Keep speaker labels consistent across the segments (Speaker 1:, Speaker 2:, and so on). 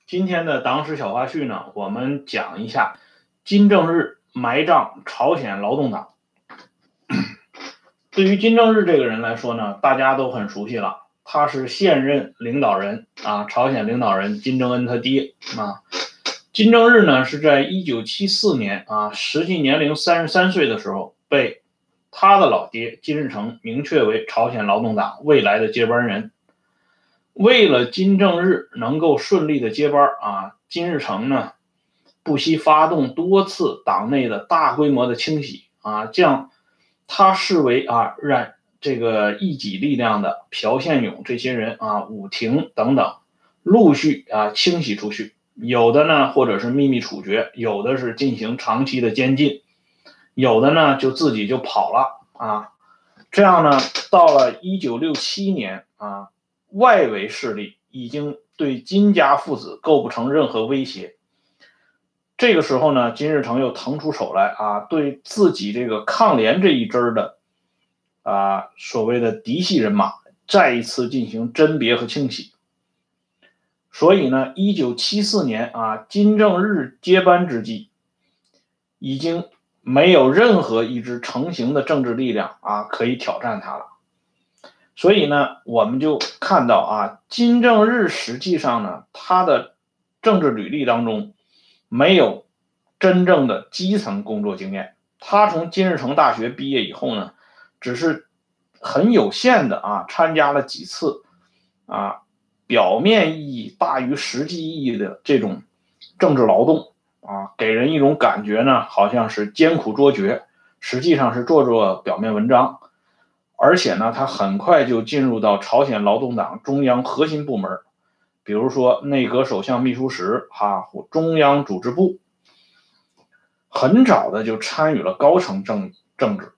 Speaker 1: 今天的党史小花絮呢，我们讲一下金正日埋葬朝鲜劳动党。对于金正日这个人来说呢，大家都很熟悉了，他是现任领导人朝鲜领导人金正恩他爹金正日呢是在1974年实际年龄33岁的时候，被他的老爹金日成明确为朝鲜劳动党未来的接班人。为了金正日能够顺利的接班金日成呢不惜发动多次党内的大规模的清洗将他视为让这个一己力量的朴宪勇这些人武庭等等陆续清洗出去，有的呢或者是秘密处决，有的是进行长期的监禁，有的呢就自己就跑了这样呢到了1967年外围势力已经对金家父子构不成任何威胁。这个时候呢，金日成又腾出手来对自己这个抗联这一支的所谓的嫡系人马再一次进行甄别和清洗。所以呢，1974年金正日接班之际，已经没有任何一支成型的政治力量可以挑战他了。所以呢，我们就看到金正日实际上呢，他的政治履历当中没有真正的基层工作经验。他从金日成大学毕业以后呢，只是很有限的参加了几次表面意义大于实际意义的这种政治劳动给人一种感觉呢，好像是艰苦卓绝，实际上是做表面文章。而且呢，他很快就进入到朝鲜劳动党中央核心部门，比如说内阁首相秘书室或中央组织部，很早的就参与了高层政治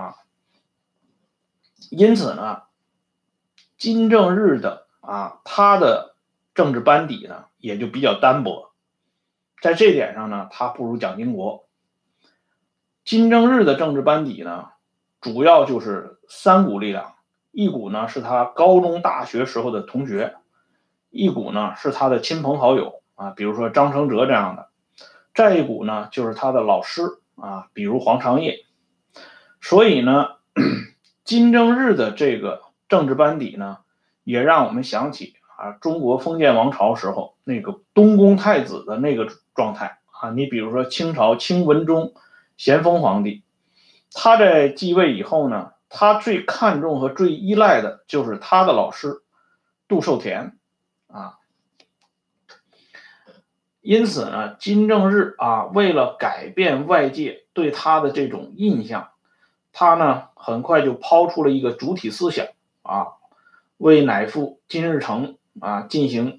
Speaker 1: 因此呢，金正日的他的政治班底呢也就比较单薄，在这点上呢，他不如蒋经国。金正日的政治班底呢，主要就是三股力量，一股呢是他高中大学时候的同学，一股呢是他的亲朋好友比如说张承哲这样的，再一股呢就是他的老师比如黄长业。所以呢，金正日的这个政治班底呢，也让我们想起中国封建王朝时候那个东宫太子的那个状态你比如说清朝清文宗咸丰皇帝，他在继位以后呢，他最看重和最依赖的就是他的老师杜寿田因此呢，金正日为了改变外界对他的这种印象，他呢很快就抛出了一个主体思想为乃父金日成进行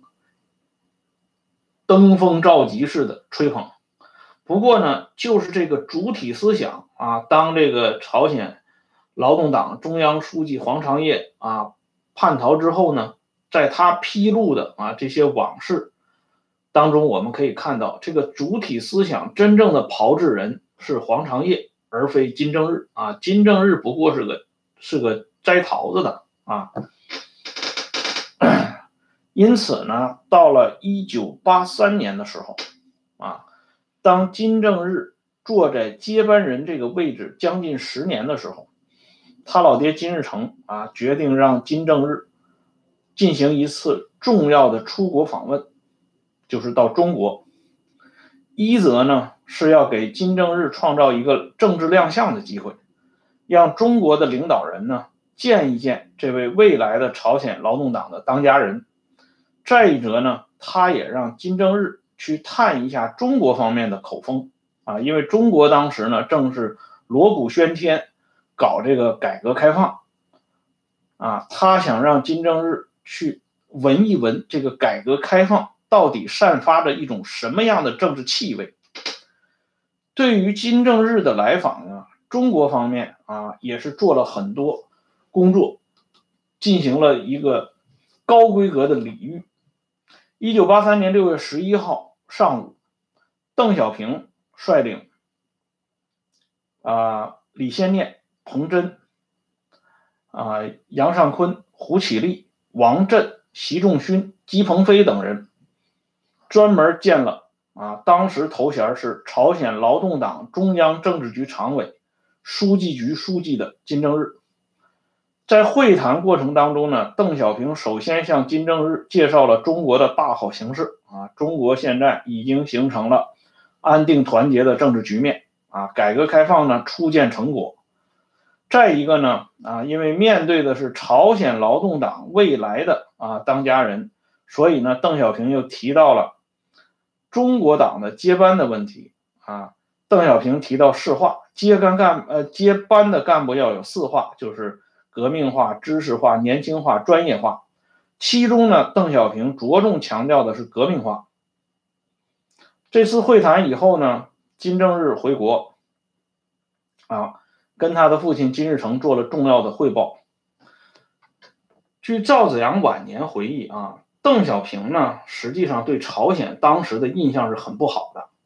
Speaker 1: 登峰造极式的吹捧。不过呢，就是这个主体思想当这个朝鲜劳动党中央书记黄长业叛逃之后呢，在他披露的这些往事当中，我们可以看到这个主体思想真正的炮制人是黄长业，而非金正日金正日不过是个摘桃子的因此呢，到了1983年的时候当金正日坐在接班人这个位置将近10年的时候，他老爹金日成决定让金正日进行一次重要的出国访问，就是到中国。一则呢是要给金正日创造一个政治亮相的机会，让中国的领导人呢见一见这位未来的朝鲜劳动党的当家人。再一则呢，他也让金正日去探一下中国方面的口风因为中国当时呢正是锣鼓喧天搞这个改革开放他想让金正日去闻一闻这个改革开放到底散发着一种什么样的政治气味。对于金正日的来访呢，中国方面也是做了很多工作，进行了一个高规格的礼遇。1983年6月11号上午，邓小平率领李先念、彭真杨尚昆、胡启立、王震、习仲勋、姬鹏飞等人专门建了当时头衔是朝鲜劳动党中央政治局常委、书记局书记的金正日。在会谈过程当中呢，邓小平首先向金正日介绍了中国的大好形势中国现在已经形成了安定团结的政治局面改革开放呢初见成果。再一个呢因为面对的是朝鲜劳动党未来的当家人，所以呢邓小平又提到了中国党的接班的问题邓小平提到4化，接班的干部要有4化，就是革命化、知识化、年轻化、专业化。其中呢，邓小平着重强调的是革命化。这次会谈以后呢，金正日回国跟他的父亲金日成做了重要的汇报。据赵紫阳晚年回忆邓小平呢，实际上对朝鲜当时的印象是很不好的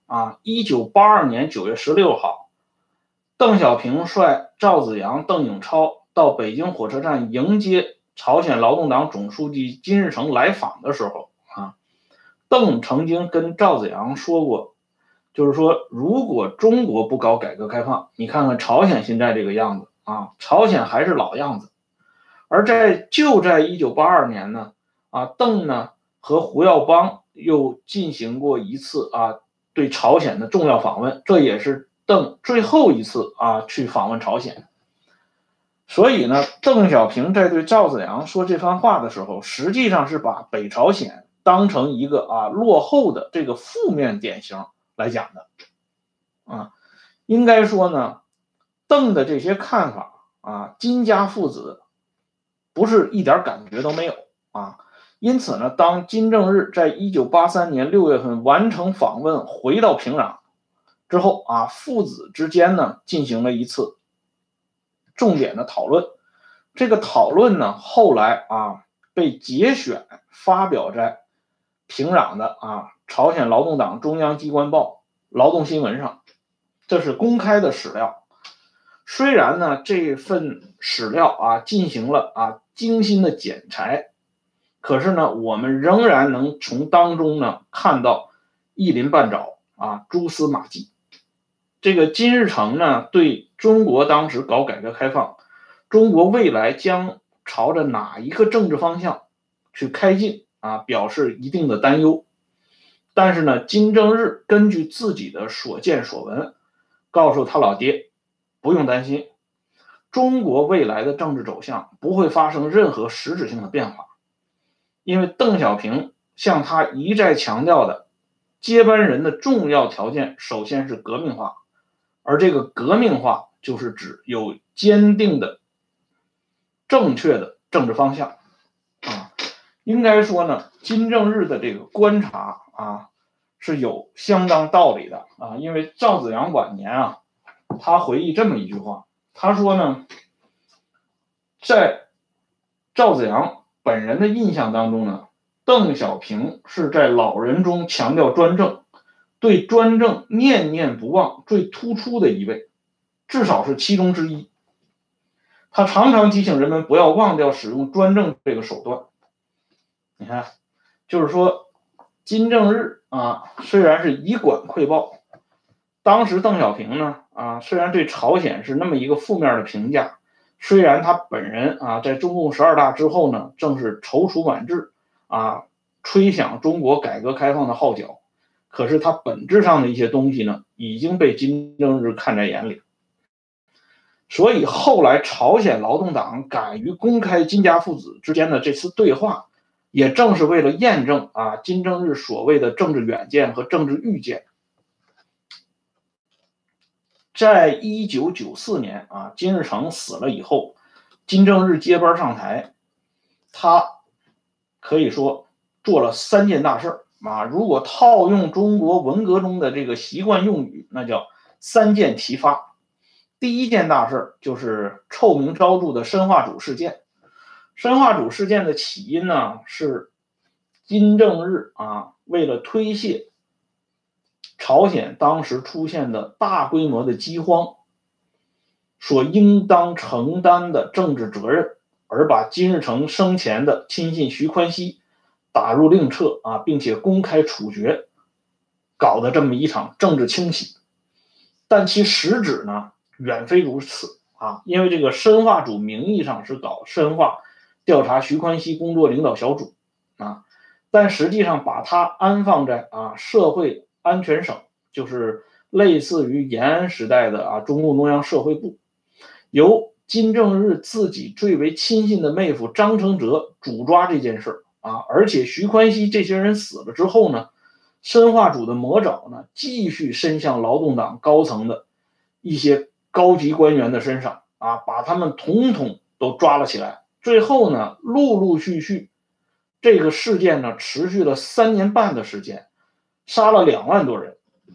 Speaker 1: 1982年9月16号，邓小平率赵紫阳、邓颖超到北京火车站迎接朝鲜劳动党总书记金日成来访的时候邓曾经跟赵紫阳说过，就是说如果中国不搞改革开放，你看看朝鲜现在这个样子朝鲜还是老样子。而就在1982年呢邓呢和胡耀邦又进行过一次对朝鲜的重要访问，这也是邓最后一次去访问朝鲜。所以呢，邓小平在对赵紫阳说这番话的时候，实际上是把北朝鲜当成一个落后的这个负面典型来讲的应该说呢，邓的这些看法金家父子不是一点感觉都没有因此呢，当金正日在1983年6月份完成访问回到平壤之后父子之间呢进行了一次重点的讨论。这个讨论呢后来被节选发表在平壤的朝鲜劳动党中央机关报劳动新闻上，这是公开的史料。虽然呢这份史料进行了精心的剪裁，可是呢我们仍然能从当中呢看到一鳞半爪蛛丝马迹。这个金日成呢对中国当时搞改革开放，中国未来将朝着哪一个政治方向去开进表示一定的担忧。但是呢金正日根据自己的所见所闻告诉他老爹，不用担心，中国未来的政治走向不会发生任何实质性的变化。因为邓小平向他一再强调的接班人的重要条件首先是革命化，而这个革命化就是指有坚定的正确的政治方向应该说呢，金正日的这个观察是有相当道理的因为赵紫阳晚年他回忆这么一句话，他说呢，在赵紫阳本人的印象当中呢，邓小平是在老人中强调专政，对专政念念不忘最突出的一位，至少是其中之一。他常常提醒人们不要忘掉使用专政这个手段。你看，就是说金正日虽然是以管窥豹，当时邓小平呢虽然对朝鲜是那么一个负面的评价，虽然他本人在中共12大之后呢正是踌躇满志吹响中国改革开放的号角，可是他本质上的一些东西呢已经被金正日看在眼里。所以后来朝鲜劳动党敢于公开金家父子之间的这次对话，也正是为了验证金正日所谓的政治远见和政治预见。在1994年金日成死了以后，金正日接班上台，他可以说做了3件大事如果套用中国文革中的这个习惯用语，那叫3箭齐发。第一件大事就是臭名昭著的申化主事件。申化主事件的起因呢，是金正日为了推卸朝鲜当时出现的大规模的饥荒所应当承担的政治责任，而把金日成生前的亲信徐宽熙打入令册啊，并且公开处决，搞的这么一场政治清洗。但其实质呢，远非如此啊，因为这个申化主名义上是搞申化调查徐宽熙工作领导小组啊，但实际上把它安放在社会安全省，就是类似于延安时代的中共中央社会部，由金正日自己最为亲信的妹夫张承泽主抓这件事而且徐宽熙这些人死了之后呢，申化主的魔爪呢继续伸向劳动党高层的一些高级官员的身上把他们统统都抓了起来。最后呢，陆陆续续这个事件呢持续了3年半的时间，杀了2万多人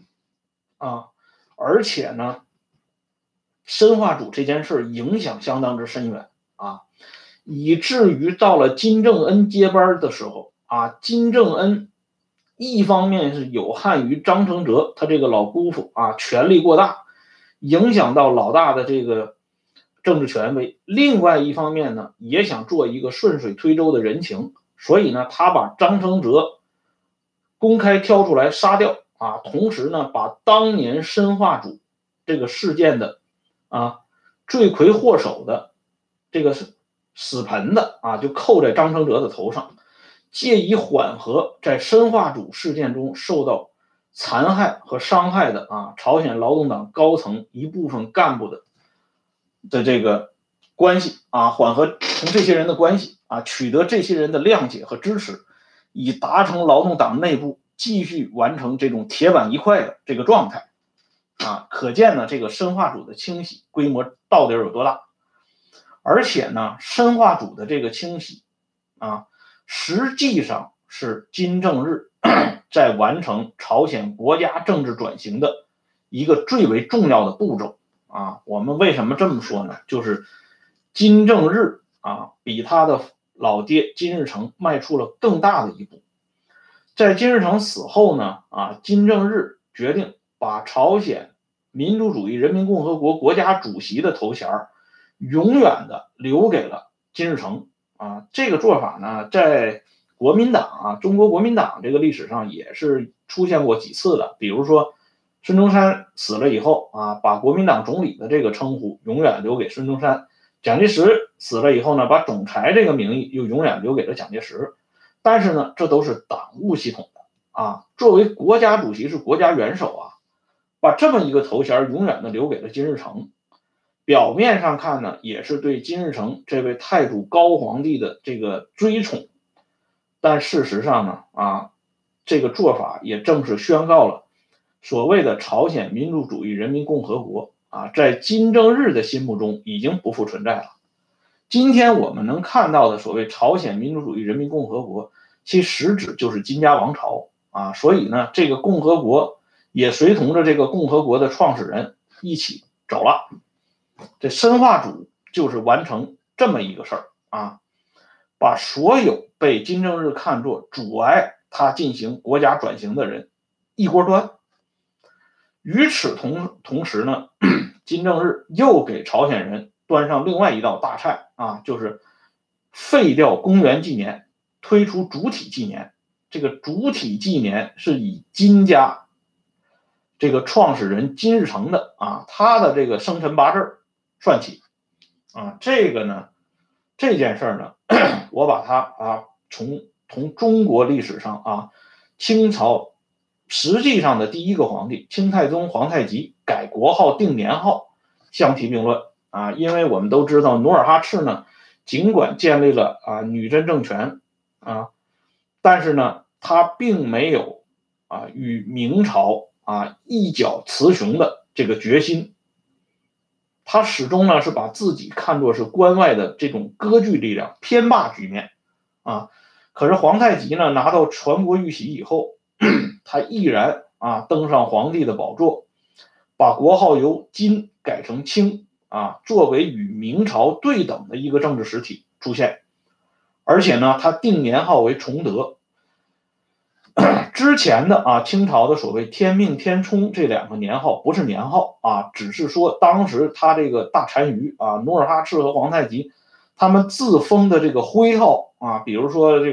Speaker 1: 而且呢，申化主这件事影响相当之深远以至于到了金正恩接班的时候金正恩一方面是有憾于张承泽他这个老姑父权力过大，影响到老大的这个政治权威，另外一方面呢，也想做一个顺水推舟的人情，所以呢，他把张承泽公开挑出来杀掉同时呢，把当年申化主这个事件的罪魁祸首的这个死盆的就扣在张承泽的头上，借以缓和在申化主事件中受到残害和伤害的朝鲜劳动党高层一部分干部的这个关系缓和同这些人的关系取得这些人的谅解和支持，以达成劳动党内部继续完成这种铁板一块的这个状态可见呢，这个申化主的清洗规模到底有多大。而且呢，申化主的这个清洗实际上是金正日在完成朝鲜国家政治转型的一个最为重要的步骤我们为什么这么说呢？就是金正日比他的老爹金日成迈出了更大的一步。在金日成死后呢金正日决定把朝鲜民主主义人民共和国国家主席的头衔永远的留给了金日成这个做法呢，在国民党中国国民党这个历史上也是出现过几次的。比如说孙中山死了以后把国民党总理的这个称呼永远留给孙中山，蒋介石死了以后呢，把总裁这个名义又永远留给了蒋介石。但是呢，这都是党务系统的作为国家主席是国家元首把这么一个头衔永远的留给了金日成。表面上看呢，也是对金日成这位太祖高皇帝的这个追宠，但事实上呢这个做法也正是宣告了所谓的朝鲜民主主义人民共和国在金正日的心目中已经不复存在了。今天我们能看到的所谓朝鲜民主主义人民共和国，其实质就是金家王朝所以呢，这个共和国也随同着这个共和国的创始人一起走了。这申化主就是完成这么一个事儿把所有被金正日看作阻碍他进行国家转型的人一锅端。与此同时呢，金正日又给朝鲜人端上另外一道大菜就是废掉公元纪年，推出主体纪年。这个主体纪年是以金家这个创始人金日成的他的这个生辰八字算起这个呢，这件事呢，我把它从中国历史上清朝实际上的第一个皇帝清太宗皇太极改国号定年号相提并论因为我们都知道努尔哈赤呢，尽管建立了女真政权但是呢，他并没有与明朝一较雌雄的这个决心。他始终呢是把自己看作是关外的这种割据力量偏霸局面可是皇太极呢拿到全国玉玺以后，他毅然登上皇帝的宝座，把国号由金改成清作为与明朝对等的一个政治实体出现。而且呢，他定年号为崇德。之前的清朝的所谓天命天冲这2个年号不是年号只是说当时他这个大单于努尔哈赤和皇太极他们自封的这个徽号比如说这个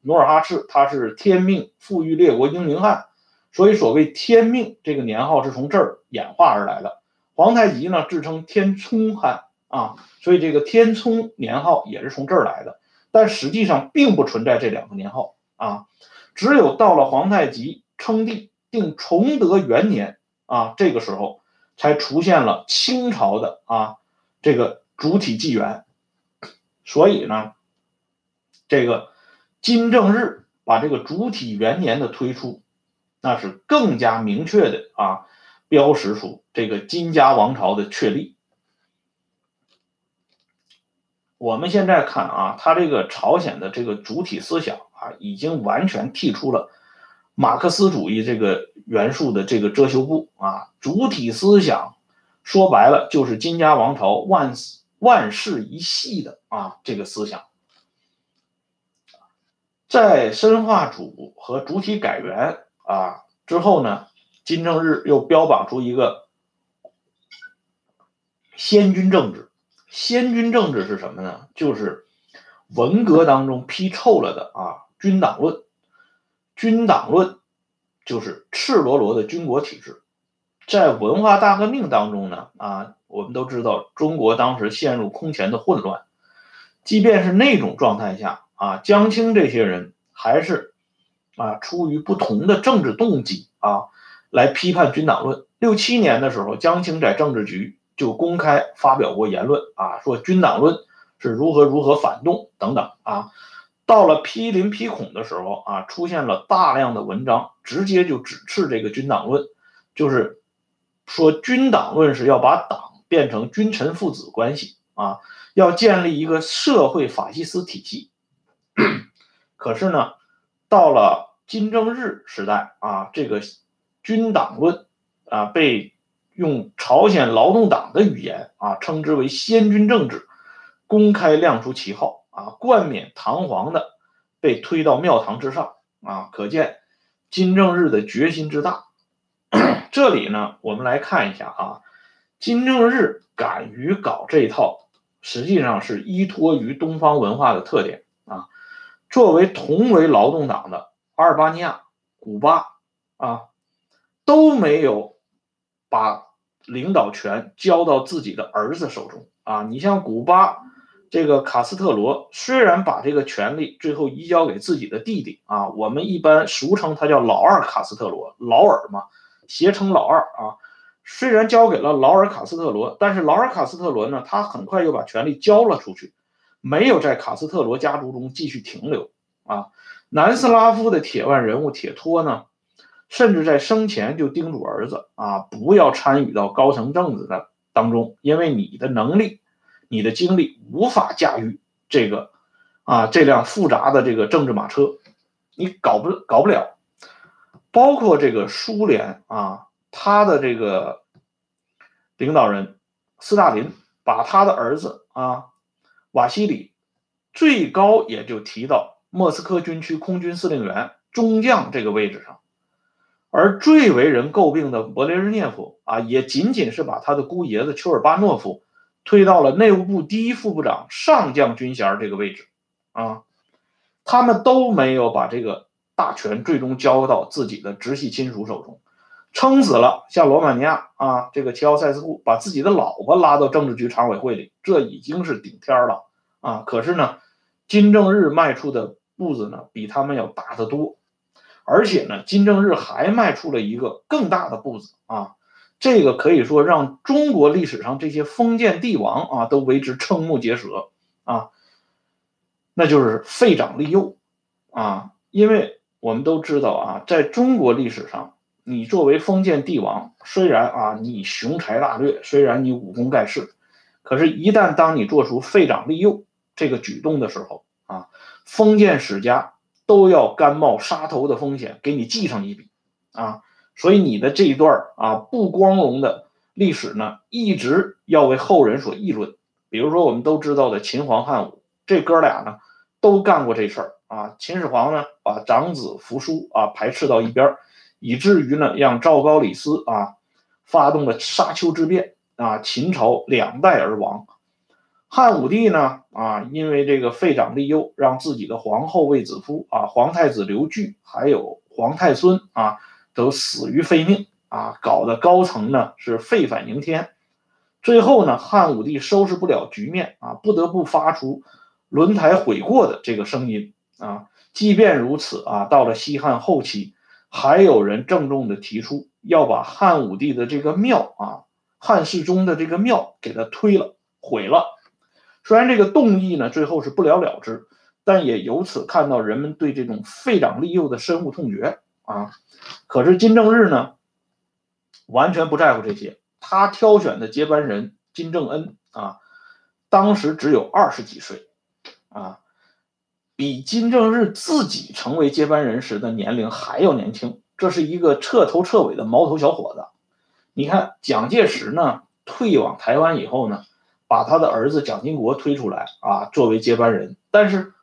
Speaker 1: 努尔哈赤他是天命富裕列国英明汉，所以所谓天命这个年号是从这儿演化而来的。皇太极呢自称天聪汉啊，所以这个天聪年号也是从这儿来的。但实际上并不存在这两个年号啊，只有到了皇太极称帝定崇德元年啊，这个时候才出现了清朝的这个主体纪元。所以呢，这个金正日把这个主体元年的推出，那是更加明确的标识出这个金家王朝的确立。我们现在看他这个朝鲜的这个主体思想已经完全剔出了马克思主义这个元素的这个遮羞布主体思想说白了就是金家王朝万世一系的这个思想。在深化主和主体改元之后呢，金正日又标榜出一个先军政治。先军政治是什么呢？就是文革当中批臭了的军党论。军党论就是赤裸裸的军国体制。在文化大革命当中呢我们都知道中国当时陷入空前的混乱，即便是那种状态下江青这些人还是出于不同的政治动机来批判军党论。67年的时候，江青在政治局就公开发表过言论说军党论是如何反动等等到了批林批孔的时候出现了大量的文章直接就指斥这个军党论，就是说军党论是要把党变成君臣父子关系要建立一个社会法西斯体系。可是呢，到了金正日时代这个军党论被用朝鲜劳动党的语言称之为先军政治，公开亮出旗号冠冕堂皇的被推到庙堂之上可见金正日的决心之大。这里呢，我们来看一下金正日敢于搞这一套，实际上是依托于东方文化的特点作为同为劳动党的阿尔巴尼亚、古巴都没有把领导权交到自己的儿子手中你像古巴这个卡斯特罗，虽然把这个权力最后移交给自己的弟弟我们一般俗称他叫老二卡斯特罗，劳尔嘛，谐称老二虽然交给了劳尔卡斯特罗，但是劳尔卡斯特罗呢，他很快又把权力交了出去，没有在卡斯特罗家族中继续停留南斯拉夫的铁腕人物铁托呢，甚至在生前就叮嘱儿子不要参与到高层政治的当中，因为你的能力、你的精力无法驾驭这个这辆复杂的这个政治马车，你搞不了。包括这个苏联他的这个领导人斯大林把他的儿子瓦西里最高也就提到莫斯科军区空军司令员中将这个位置上，而最为人诟病的勃列日涅夫也仅仅是把他的姑爷子丘尔巴诺夫推到了内务部第一副部长上将军衔这个位置他们都没有把这个大权最终交到自己的直系亲属手中，撑死了像罗马尼亚这个齐奥塞斯库把自己的老婆拉到政治局常委会里，这已经是顶天了可是呢，金正日迈出的步子呢比他们要大得多，而且呢，金正日还迈出了一个更大的步子这个可以说让中国历史上这些封建帝王都为之瞠目结舌那就是废长立幼因为我们都知道在中国历史上，你作为封建帝王，虽然你雄才大略，虽然你武功盖世，可是一旦当你做出废长立幼这个举动的时候封建史家都要甘冒杀头的风险给你记上一笔所以你的这一段不光荣的历史呢，一直要为后人所议论。比如说我们都知道的秦皇汉武，这哥俩呢都干过这事儿秦始皇呢把长子扶苏排斥到一边，以至于呢让赵高李斯发动了沙丘之变秦朝2代而亡。 汉武帝呢因为这个废长立幼，让自己的皇后卫子夫皇太子刘据还有皇太孙都死于非命搞得高层呢是废反迎天。最后呢，汉武帝收拾不了局面不得不发出轮台悔过的这个声音即便如此到了西汉后期，还有人郑重的提出要把汉武帝的这个庙汉室中的这个庙给他推了毁了。虽然这个动议呢最后是不了了之，但也由此看到人们对这种废长立幼的深恶痛绝可是金正日呢完全不在乎这些，他挑选的接班人金正恩当时只有20几岁比金正日自己成为接班人时的年龄还要年轻，这是一个彻头彻尾的毛头小伙子。你看蒋介石呢退往台湾以后呢，把他的儿子蒋经国推出来作为接班人，但是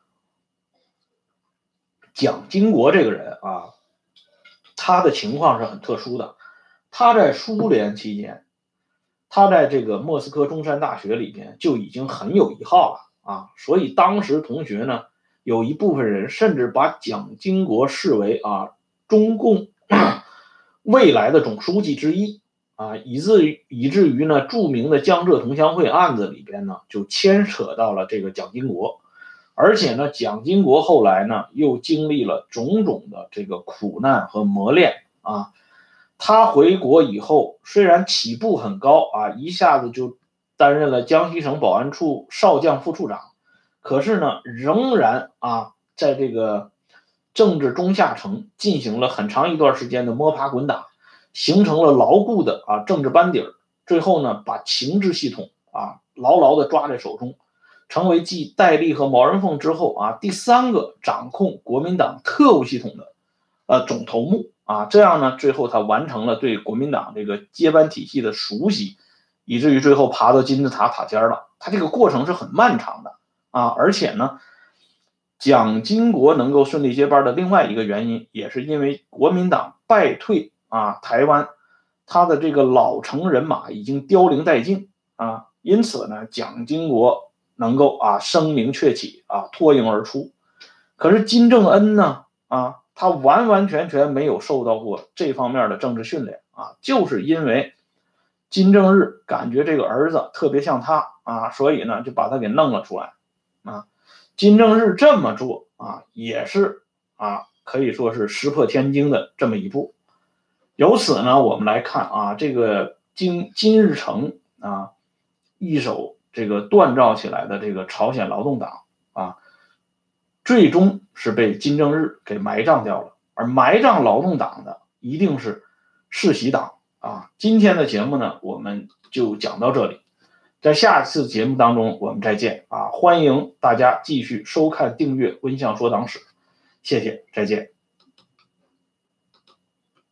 Speaker 1: 蒋经国这个人他的情况是很特殊的。他在苏联期间，他在这个莫斯科中山大学里边就已经很有一号了所以当时同学呢有一部分人甚至把蒋经国视为中共未来的总书记之一以至于呢著名的江浙同乡会案子里边呢就牵扯到了这个蒋经国。而且呢蒋经国后来呢又经历了种种的这个苦难和磨练他回国以后虽然起步很高一下子就担任了江西省保安处少将副处长，可是呢仍然在这个政治中下层进行了很长一段时间的摸爬滚打，形成了牢固的政治班底儿。最后呢把情治系统牢牢的抓在手中，成为继戴笠和毛人凤之后第3个掌控国民党特务系统的总头目这样呢最后他完成了对国民党这个接班体系的熟悉，以至于最后爬到金字塔塔尖了。他这个过程是很漫长的而且呢蒋经国能够顺利接班的另外一个原因，也是因为国民党败退台湾，他的这个老成人马已经凋零殆尽因此呢蒋经国能够声名鹊起脱颖而出。可是金正恩呢他完完全全没有受到过这方面的政治训练就是因为金正日感觉这个儿子特别像他所以呢就把他给弄了出来金正日这么做也是可以说是石破天惊的这么一步。由此呢我们来看这个金日成一手这个锻造起来的这个朝鲜劳动党最终是被金正日给埋葬掉了。而埋葬劳动党的一定是世袭党今天的节目呢我们就讲到这里，在下次节目当中我们再见欢迎大家继续收看订阅温相说党史，谢谢，再见。